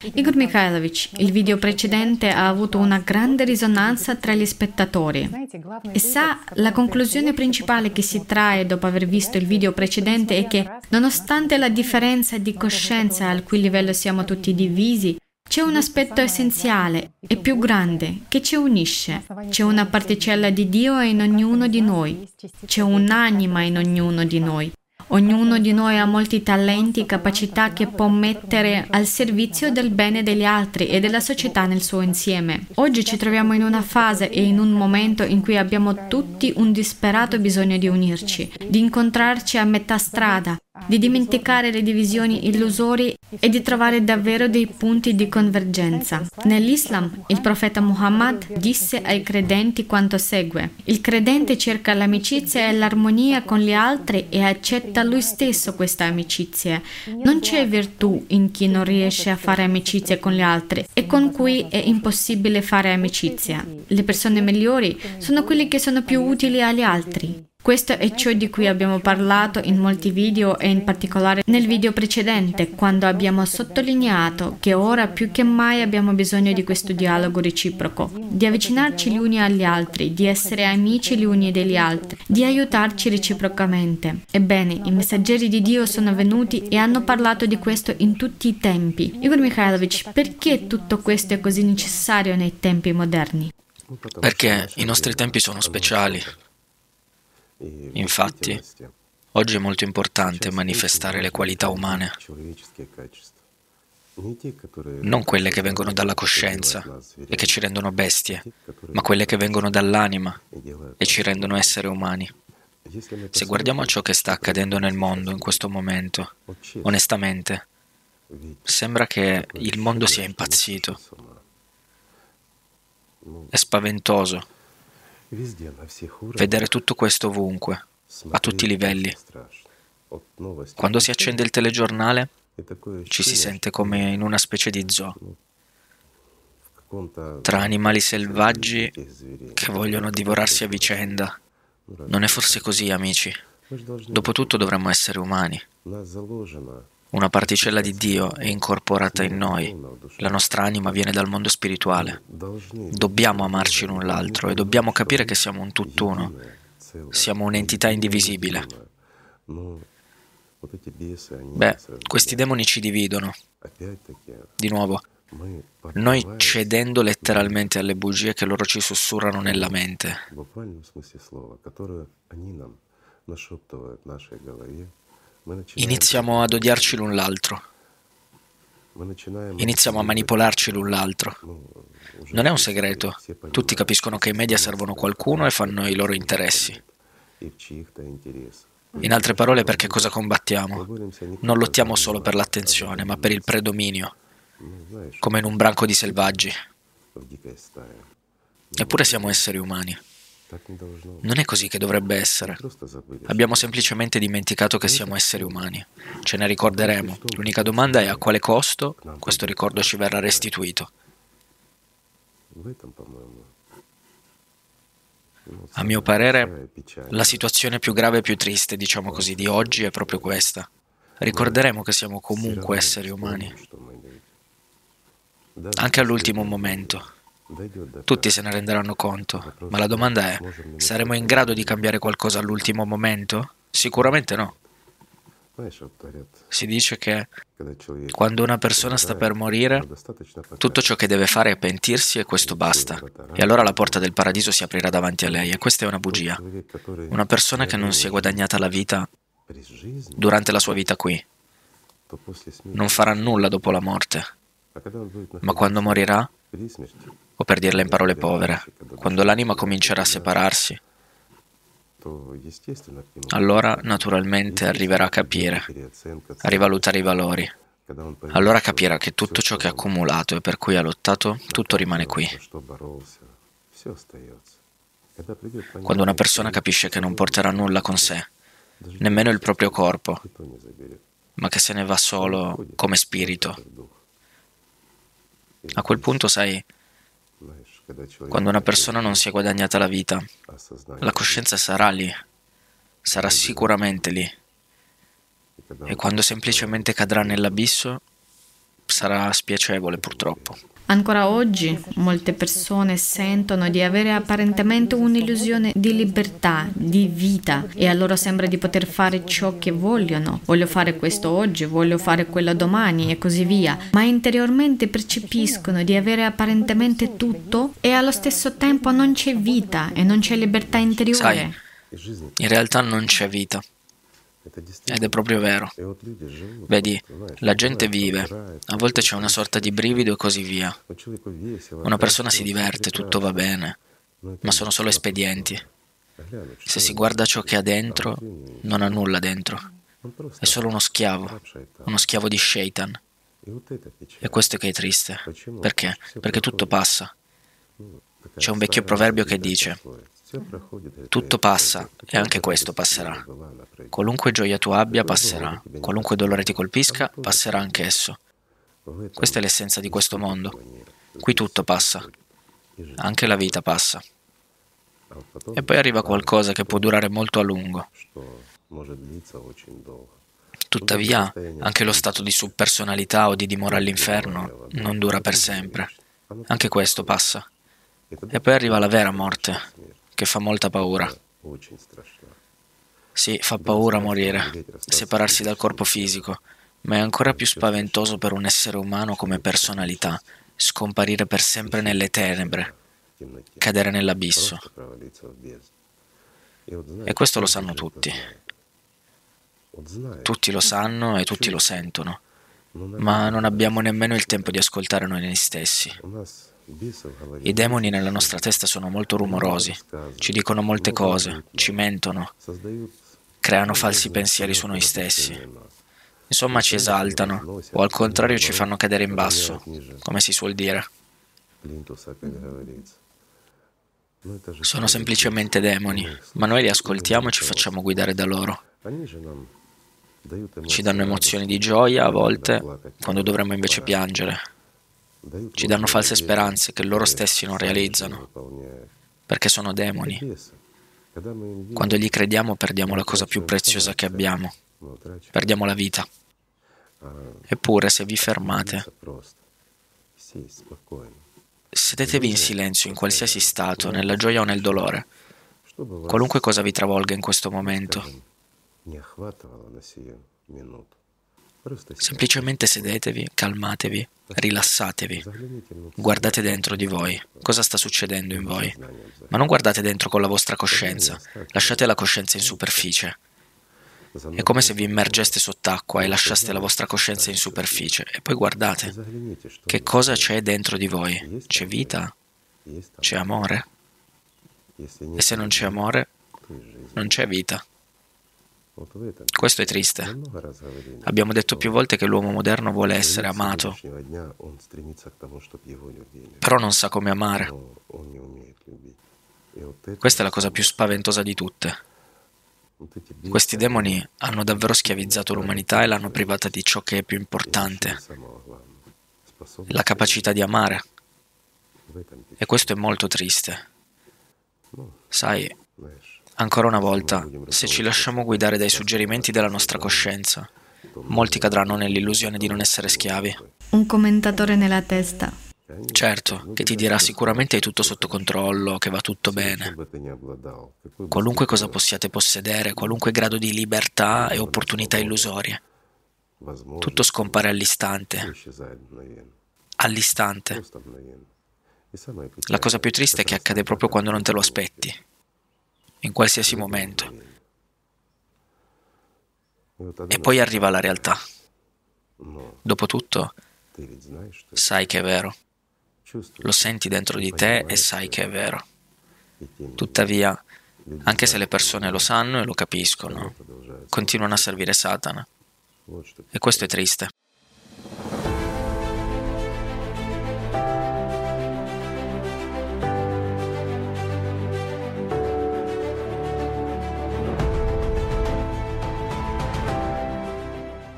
Igor Mikhailovich, il video precedente ha avuto una grande risonanza tra gli spettatori. E sa, la conclusione principale che si trae dopo aver visto il video precedente è che, nonostante la differenza di coscienza al cui livello siamo tutti divisi, c'è un aspetto essenziale e più grande che ci unisce. C'è una particella di Dio in ognuno di noi. C'è un'anima in ognuno di noi. Ognuno di noi ha molti talenti e capacità che può mettere al servizio del bene degli altri e della società nel suo insieme. Oggi ci troviamo in una fase e in un momento in cui abbiamo tutti un disperato bisogno di unirci, di incontrarci a metà strada, di dimenticare le divisioni illusorie e di trovare davvero dei punti di convergenza. Nell'Islam, il profeta Muhammad disse ai credenti quanto segue: il credente cerca l'amicizia e l'armonia con gli altri e accetta lui stesso questa amicizia. Non c'è virtù in chi non riesce a fare amicizia con gli altri e con cui è impossibile fare amicizia. Le persone migliori sono quelle che sono più utili agli altri. Questo è ciò di cui abbiamo parlato in molti video e in particolare nel video precedente, quando abbiamo sottolineato che ora più che mai abbiamo bisogno di questo dialogo reciproco, di avvicinarci gli uni agli altri, di essere amici gli uni degli altri, di aiutarci reciprocamente. Ebbene, i messaggeri di Dio sono venuti e hanno parlato di questo in tutti i tempi. Igor Mikhailovich, perché tutto questo è così necessario nei tempi moderni? Perché i nostri tempi sono speciali. Infatti, oggi è molto importante manifestare le qualità umane, non quelle che vengono dalla coscienza e che ci rendono bestie, ma quelle che vengono dall'anima e ci rendono esseri umani. Se guardiamo a ciò che sta accadendo nel mondo in questo momento, onestamente, sembra che il mondo sia impazzito. È spaventoso vedere tutto questo ovunque, a tutti i livelli. Quando si accende il telegiornale, ci si sente come in una specie di zoo, tra animali selvaggi che vogliono divorarsi a vicenda. Non è forse così, amici? Dopotutto dovremmo essere umani. Una particella di Dio è incorporata in noi. La nostra anima viene dal mondo spirituale. Dobbiamo amarci l'un l'altro e dobbiamo capire che siamo un tutt'uno. Siamo un'entità indivisibile. Beh, questi demoni ci dividono. Di nuovo, noi cedendo letteralmente alle bugie che loro ci sussurrano nella mente. Iniziamo ad odiarci l'un l'altro. Iniziamo a manipolarci l'un l'altro. Non è un segreto. Tutti capiscono che i media servono qualcuno e fanno i loro interessi. In altre parole, perché cosa combattiamo? Non lottiamo solo per l'attenzione, ma per il predominio, come in un branco di selvaggi. Eppure siamo esseri umani. Non è così che dovrebbe essere. Abbiamo semplicemente dimenticato che siamo esseri umani. Ce ne ricorderemo. L'unica domanda è a quale costo questo ricordo ci verrà restituito. A mio parere, la situazione più grave e più triste, diciamo così, di oggi è proprio questa. Ricorderemo che siamo comunque esseri umani. Anche all'ultimo momento. Tutti se ne renderanno conto, ma la domanda è: saremo in grado di cambiare qualcosa all'ultimo momento? Sicuramente no. Si dice che quando una persona sta per morire, tutto ciò che deve fare è pentirsi e questo basta. E allora la porta del paradiso si aprirà davanti a lei, e questa è una bugia. Una persona che non si è guadagnata la vita durante la sua vita qui non farà nulla dopo la morte, ma quando morirà, o per dirla in parole povere, quando l'anima comincerà a separarsi, allora naturalmente arriverà a capire, a rivalutare i valori. Allora capirà che tutto ciò che ha accumulato e per cui ha lottato, tutto rimane qui. Quando una persona capisce che non porterà nulla con sé, nemmeno il proprio corpo, ma che se ne va solo come spirito, a quel punto, sai, quando una persona non si è guadagnata la vita, la coscienza sarà lì, sarà sicuramente lì. E quando semplicemente cadrà nell'abisso, sarà spiacevole purtroppo. Ancora oggi molte persone sentono di avere apparentemente un'illusione di libertà, di vita, e a loro sembra di poter fare ciò che vogliono. Voglio fare questo oggi, voglio fare quello domani e così via, ma interiormente percepiscono di avere apparentemente tutto e allo stesso tempo non c'è vita e non c'è libertà interiore. Sai, in realtà non c'è vita. Ed è proprio vero. Vedi, la gente vive, a volte c'è una sorta di brivido e così via. Una persona si diverte, tutto va bene, ma sono solo espedienti. Se si guarda ciò che ha dentro, non ha nulla dentro. È solo uno schiavo di Shaitan. E questo che è triste. Perché? Perché tutto passa. C'è un vecchio proverbio che dice: tutto passa e anche questo passerà. Qualunque gioia tu abbia passerà, qualunque dolore ti colpisca passerà anch'esso. Questa è l'essenza di questo mondo. Qui tutto passa, anche la vita passa. E poi arriva qualcosa che può durare molto a lungo. Tuttavia, anche lo stato di subpersonalità o di dimora all'inferno non dura per sempre. Anche questo passa. E poi arriva la vera morte, che fa molta paura. Sì, fa paura morire, separarsi dal corpo fisico, ma è ancora più spaventoso per un essere umano come personalità, scomparire per sempre nelle tenebre, cadere nell'abisso. E questo lo sanno tutti. Tutti lo sanno e tutti lo sentono, ma non abbiamo nemmeno il tempo di ascoltare noi stessi. I demoni nella nostra testa sono molto rumorosi, ci dicono molte cose, ci mentono, creano falsi pensieri su noi stessi. Insomma, ci esaltano, o al contrario ci fanno cadere in basso, come si suol dire. Sono semplicemente demoni, ma noi li ascoltiamo e ci facciamo guidare da loro. Ci danno emozioni di gioia a volte, quando dovremmo invece piangere. Ci danno false speranze che loro stessi non realizzano, perché sono demoni. Quando gli crediamo perdiamo la cosa più preziosa che abbiamo, perdiamo la vita. Eppure, se vi fermate, sedetevi in silenzio in qualsiasi stato, nella gioia o nel dolore, qualunque cosa vi travolga in questo momento. Semplicemente sedetevi, calmatevi, rilassatevi, guardate dentro di voi, cosa sta succedendo in voi, ma non guardate dentro con la vostra coscienza, lasciate la coscienza in superficie. È come se vi immergeste sott'acqua e lasciaste la vostra coscienza in superficie e poi guardate che cosa c'è dentro di voi. C'è vita? C'è amore? E se non c'è amore, non c'è vita. Questo è triste. Abbiamo detto più volte che l'uomo moderno vuole essere amato, però non sa come amare. Questa è la cosa più spaventosa di tutte. Questi demoni hanno davvero schiavizzato l'umanità e l'hanno privata di ciò che è più importante, la capacità di amare. E questo è molto triste. Sai, ancora una volta, se ci lasciamo guidare dai suggerimenti della nostra coscienza, molti cadranno nell'illusione di non essere schiavi. Un commentatore nella testa. Certo, che ti dirà sicuramente hai tutto sotto controllo, che va tutto bene. Qualunque cosa possiate possedere, qualunque grado di libertà e opportunità illusorie, tutto scompare all'istante. All'istante. La cosa più triste è che accade proprio quando non te lo aspetti, in qualsiasi momento. E poi arriva la realtà. Dopotutto, sai che è vero. Lo senti dentro di te e sai che è vero. Tuttavia, anche se le persone lo sanno e lo capiscono, continuano a servire Satana. E questo è triste.